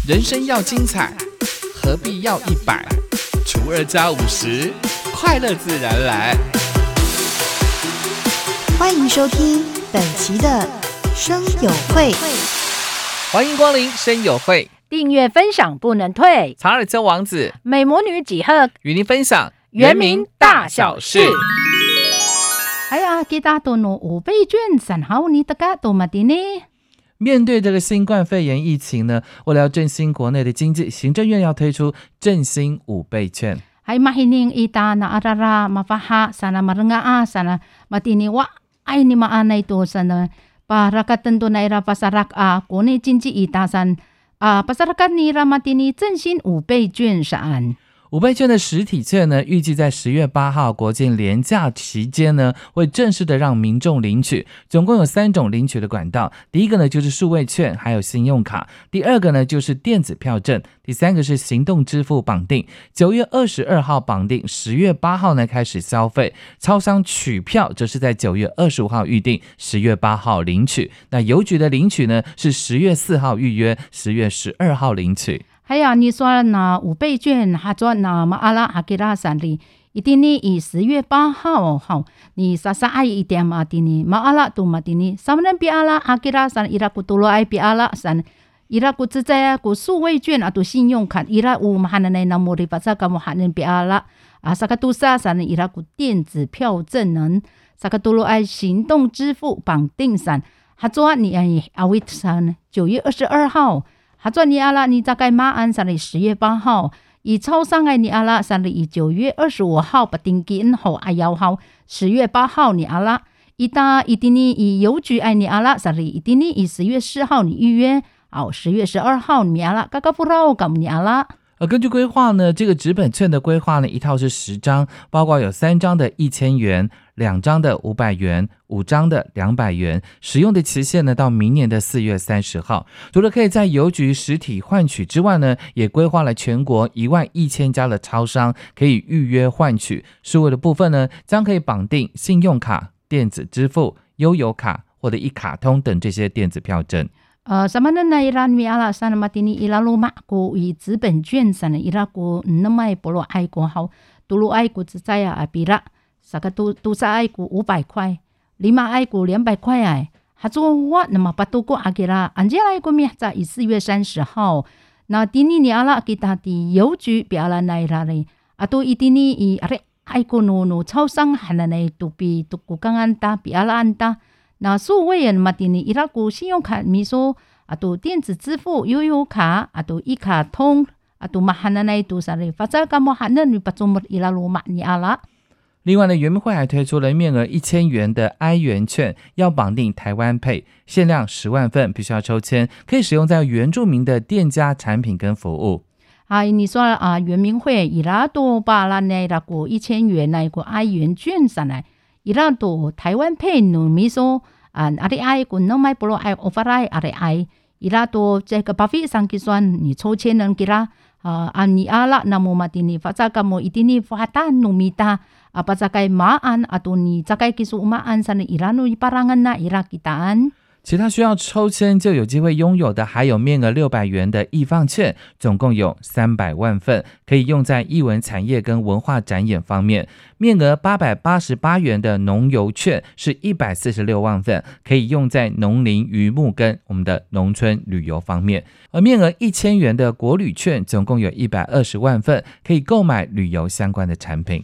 人生要精彩，何必要100？除2加50，快乐自然来。 欢迎收听本期的声友会， 欢迎光临声友会， 订阅分享不能退。 查尔斯王子、 美魔女几何与您分享原名大小事。哎呀，kita tono 5倍券3號你大家多麼的呢？ 面对这个新冠肺炎疫情呢，为了要振兴国内的经济，行政院要推出振兴5倍券。 ay mahining ita na arara mafaha sana marengaa sana matini wa ay ni maanay to sana para katento na ira pasarak kone jinji ita san pasarakat ni ira matini 振兴5倍券上。 5倍券的实体券呢，预计在10月8号国庆连假期间呢，会正式的让民众领取。总共有3种领取的管道，第一个呢就是数位券，还有信用卡；第二个呢就是电子票证；第三个是行动支付绑定。9月22号绑定，10月8号呢开始消费。超商取票则是在9月25号预定，10月8号领取。那邮局的领取呢是10月4号预约，10月12号领取。 哎呀，你说那5倍券哈做那马阿拉阿吉拉山里，一定呢以10月8号好，你啥啥爱一点嘛的呢？马阿拉都嘛的呢？什么人比阿拉阿吉拉山伊拉古多罗爱比阿拉山，伊拉古自在古数位券啊，都信用卡伊拉乌马哈那那摩里巴萨卡摩哈那比阿拉啊，萨卡杜萨山伊拉古电子票证能，萨卡多罗爱行动支付绑定山，哈做你爱阿维山9月22号。哈做你阿拉你大概马鞍山里10月8号，以超商爱你阿拉山里以9月25号不定金后爱摇号10月8号你阿拉，一打一定你以邮局爱你阿拉山里一定你以10月4号你预约，好10月12号你阿拉嘎嘎不绕搞你阿拉。 根据规划呢，这个纸本券的规划呢，一套是10张，包括有3张的1000元，2张的500元，5张的200元，使用的期限呢到明年的4月30号。除了可以在邮局实体换取之外呢，也规划了全国11000家的超商可以预约换取。数位的部分呢，将可以绑定信用卡、电子支付、悠游卡或者一卡通等这些电子票证。 什么人来让米阿拉山马蒂尼伊拉罗马国以资本券上伊拉国那么不罗爱国好，多罗爱国只在啊比拉，啥个都是爱国500块，5爱国200块哎，还做我那么不多过阿给啦，安杰来国米在4月30号，那第二年阿拉给他的邮局比阿拉来啦嘞，啊都一定呢以阿爱国no超商还那来都比都国刚安达比阿拉安达。那数位人马蒂尼伊拉古信用卡米说啊，都电子支付悠游卡啊，都一卡通啊，都马哈那那都啥嘞？发展干么哈那你不做么伊拉罗马尼阿拉。 另外呢，原民会还推出了面额1000元的 I 元券，要绑定台湾 Pay， 限量10万份，必须要抽签，可以使用在原住民的店家产品跟服务。 你说啊，原民会伊拉都把那那个1000元那个 I 元券上来。伊拉都台湾配努米说阿里爱古那买不罗爱 override 阿里爱伊拉都这个巴菲上计算你抽签能给他你阿拉那么马蒂尼发展个么一定你发展努米达巴扎盖马安atau你扎盖技术马安sana伊拉努parangan na伊拉kita an。 其他需要抽签就有机会拥有的还有面额600元的艺放券，总共有300万份，可以用在艺文产业跟文化展演方面。面额888元的农游券是146万份，可以用在农林渔牧跟我们的农村旅游方面。而面额1000元的国旅券总共有120万份，可以购买旅游相关的产品。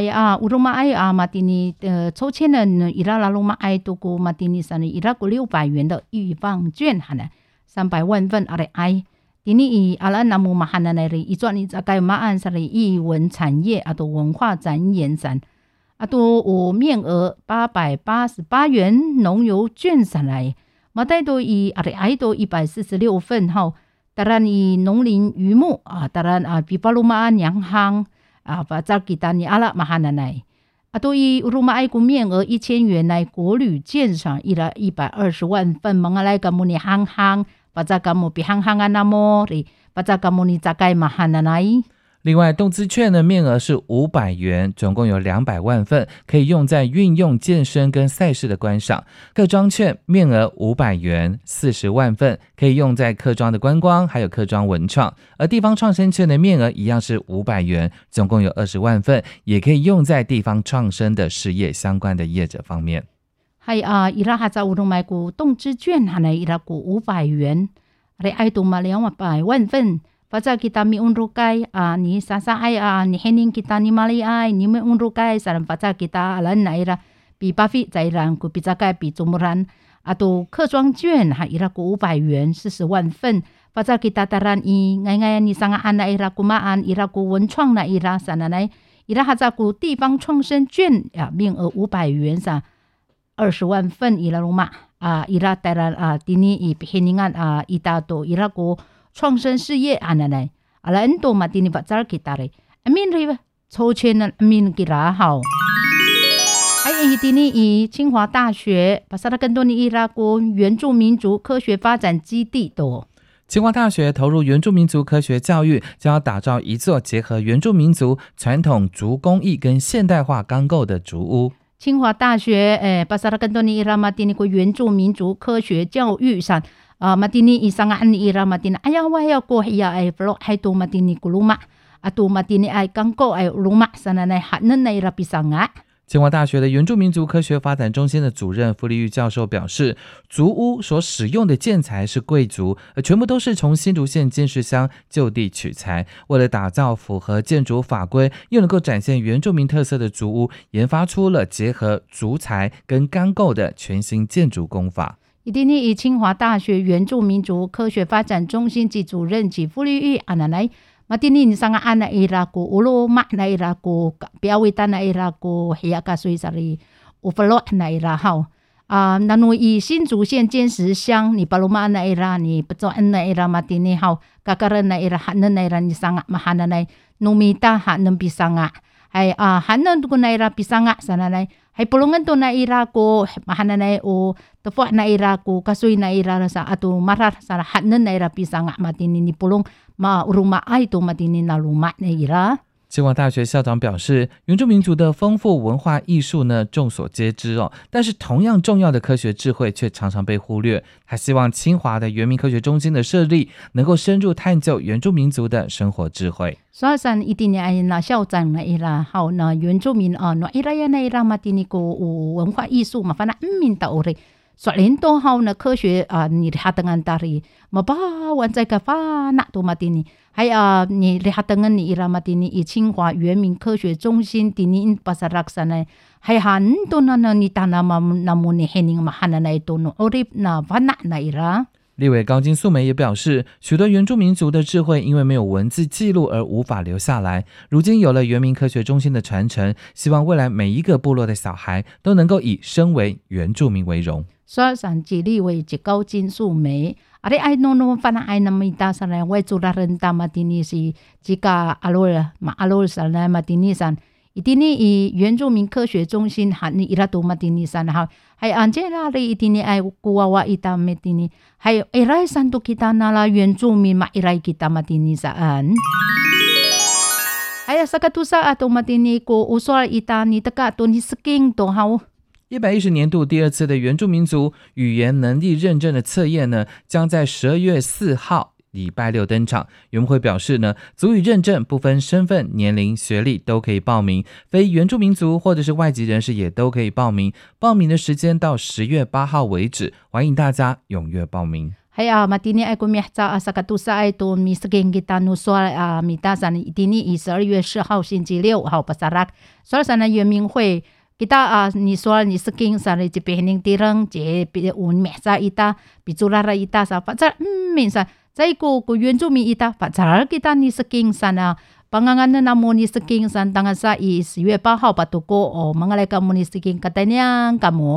uruma ai matini 抽签的伊拉拉鲁马ai都过 matini sana伊拉过600元的预放券哈呢300万份ai ini i ala namu mahana nari izo ni zakai maan sari 艺文产业atau 文化展演展atau 面额888元农游券上来马代都以ai都146份号当然以农林渔牧当然bipalumaan yang hang pasal kita ni ala mahana nai atau i rumah ai ku 面额1000元来国旅券上伊拉120万份mengalai kamu ni hang hang pasal kamu pi hang hangan namo pasal kamu ni zakai mahana nai。 另外，动资券呢面额是500元，总共有200万份，可以用在运用健身跟赛事的观赏。客庄券面额500元，40万份，可以用在客庄的观光，还有客庄文创。而地方创生券的面额一样是500元，总共有20万份，也可以用在地方创生的事业相关的业者方面。 伊拉哈在乌龙买股动资券，哈呢伊拉股500元，而爱多嘛200万份。Faza kita mi unrukai ni sasa ai ni hening kita ni mali ai ni mi unrukai saran faza kita alan naira 比巴菲在然股比大概比中然客庄券伊拉股500元40万份faza kita taran ngai ni sanga ana ira kumaan ira股文创na ira sana nai ira haza股地方创生券面额500元sa 20万份ira rumah ira taran dini i heningan ita to ira股创生事业来很多嘛今天把这儿给打嘞amin riba 抽签呢 amin 给拉好今天以清华大学把萨拉更多尼伊拉国原住民族科学发展基地多清华大学投入原住民族科学教育，将要打造一座结合原住民族传统竹工艺跟现代化钢构的竹屋。 清华大学巴萨拉更多尼伊拉马蒂尼国原住民族科学教育上matini isangaan ni ira matini ayawa ya ko ya ay flo hay to matini kuluma atu matini ay kangko ay luma sana nay hanan na ira pisanga。 清华大学的原住民族科学发展中心的主任傅立玉教授表示，竹屋所使用的建材是贵族，全部都是从新竹县尖石乡就地取材。为了打造符合建筑法规又能够展现原住民特色的竹屋，研发出了结合竹材跟钢构的全新建筑工法。 今天以清华大学原住民族科学发展中心及主任及傅立玉来matini ni sanga ana ira ko ulo ma na ira ko piawita na ira ko hiya ka sui sari ufalo na ira hao nanu i 新竹县尖石乡你 paluma na ira ni pecoan na ira matini hao kakaran na ira hanan na ira ni sanga mahana na numita hanan pisanga hay hanan ko na ira pisanga sana na hay pulungan to na ira ko mahana na o tefo na ira ko kasoy na ira sa ato marar sa hanan na ira pisanga matini ni pulong ma uruma ai to matini na luma na ira。 清华大学校长表示，原住民族的丰富文化艺术呢众所皆知但是同样重要的科学智慧却常常被忽略。他希望清华的原民科学中心的设立能够深入探究原住民族的生活智慧。 所以上一定要那校长那伊拉好那原住民那伊拉呀那伊拉马蒂尼个文化艺术嘛，反正民到嘞。所以都好呢科学你lihat dengan tari mabawan在个发那多马蒂尼还你lihat dengan你伊拉马蒂尼以清华原民科学中心di ni pasaraksana还很多呢你当那么那么你黑人嘛喊那一多no orip na vana na ira。 立委高金素梅也表示，许多原住民族的智慧因为没有文字记录而无法留下来，如今有了原民科学中心的传承，希望未来每一个部落的小孩都能够以身为原住民为荣。 所以上即立委即高金素梅ari ai no fana ai namita sana wai tularan tamatini si jika alol ma alol sana matini san itini i 原住民科学中心喊你伊拉多matini san ha hay anjela ri itini ai kuwawa ita metini hay irai santo kita nala 原住民ma irai kita matini saan hay sakatusa ato matini ko usol ita ni taka to ni sking to hao。 110年度第二次的原住民族语言能力认证的测验呢，将在12月4号礼拜六登场。原会表示呢，族语认证不分身份、年龄、学历都可以报名，非原住民族或者是外籍人士也都可以报名。报名的时间到10月8号为止，欢迎大家踊跃报名。 matini ay kumihta sa katusa ay to misging kita nuswa mitasan itini 12月4号星期六号pasarak so sana 原民会kita ni soal ni sking sa ri pehning tirang je un mehsa ita biculara ita sa pacar minsa zai ko原住民 ita pacar kita ni sking sana panganganan namo ni sking san tangan sa 10月8号patuko o mangalay ka mo ni sking katanyang kamo。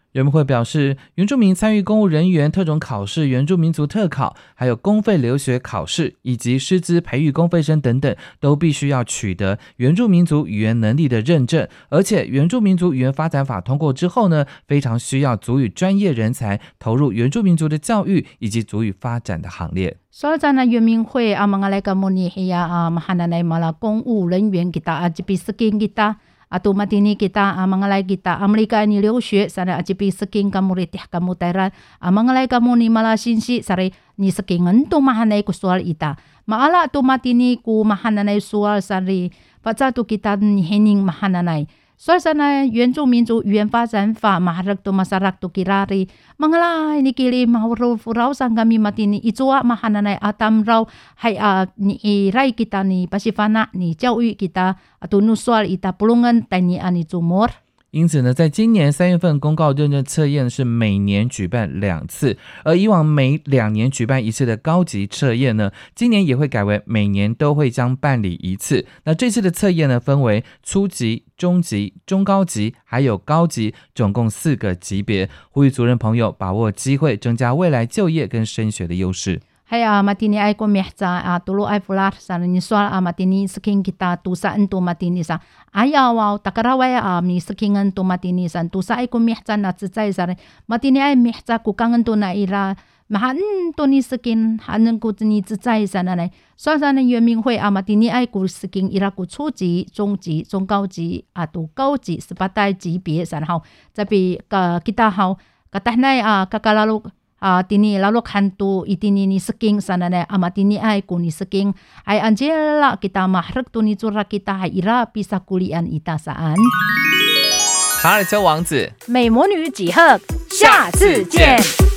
原民会表示，原住民参与公务人员特种考试、原住民族特考，还有公费留学考试，以及师资培育公费生等等，都必须要取得原住民族语言能力的认证。而且原住民族语言发展法通过之后呢，非常需要族语专业人才投入原住民族的教育以及族语发展的行列。 Soal sana原民会mga kamu hiya mahananay mala 公务人员kita ajipi skin kita atau matini kita mangalay kita Amerika ni 留学 sana ajipi skin kamu ritih kamu tairan mangalay kamu ni mala sinsi sare ni skingan to mahanay ku soal ita maala to matini ku mahananay soal sare paca tu kita ni hening mahananay soal sana 原住民族语言发展法 maharag to masarak to kirari mangalay ni kili mahuro furau sang kami matini itua mahananay atam raw hay ni iray kita ni pasifana ni 教育 kita atau nusual ita pulungan tani ani tumor。 因此呢，在今年3月份公告认证测验是每年举办2次，而以往每2年举办1次的高级测验呢，今年也会改为每年都会将办理1次。那这次的测验呢，分为初级、中级、中高级还有高级，总共4个级别，呼吁族人朋友把握机会，增加未来就业跟升学的优势。 Hay matini ay ko mehsa tulo ay fular sa ni soal matini skin kita tusaan to matini sa ayaw takaraway ni skingan to matini san tusa ay ko mehsa na tsay sa matini ay mehsa kukangan to na ira mahan to ni skin hanen ko ni tsay sa na so sa na 原民会matini ay ko skin ira ko 初级、中级、中高级to 高级18级别san haw tapi kita haw katahnay kakalalo tini lalok hantu itini ni sking sana na amatini ay kuni sking ay Angela kita mahrek tu ni zura kita ay ira pisa kulian ita saan 卡尔丘王子美魔女几何下次见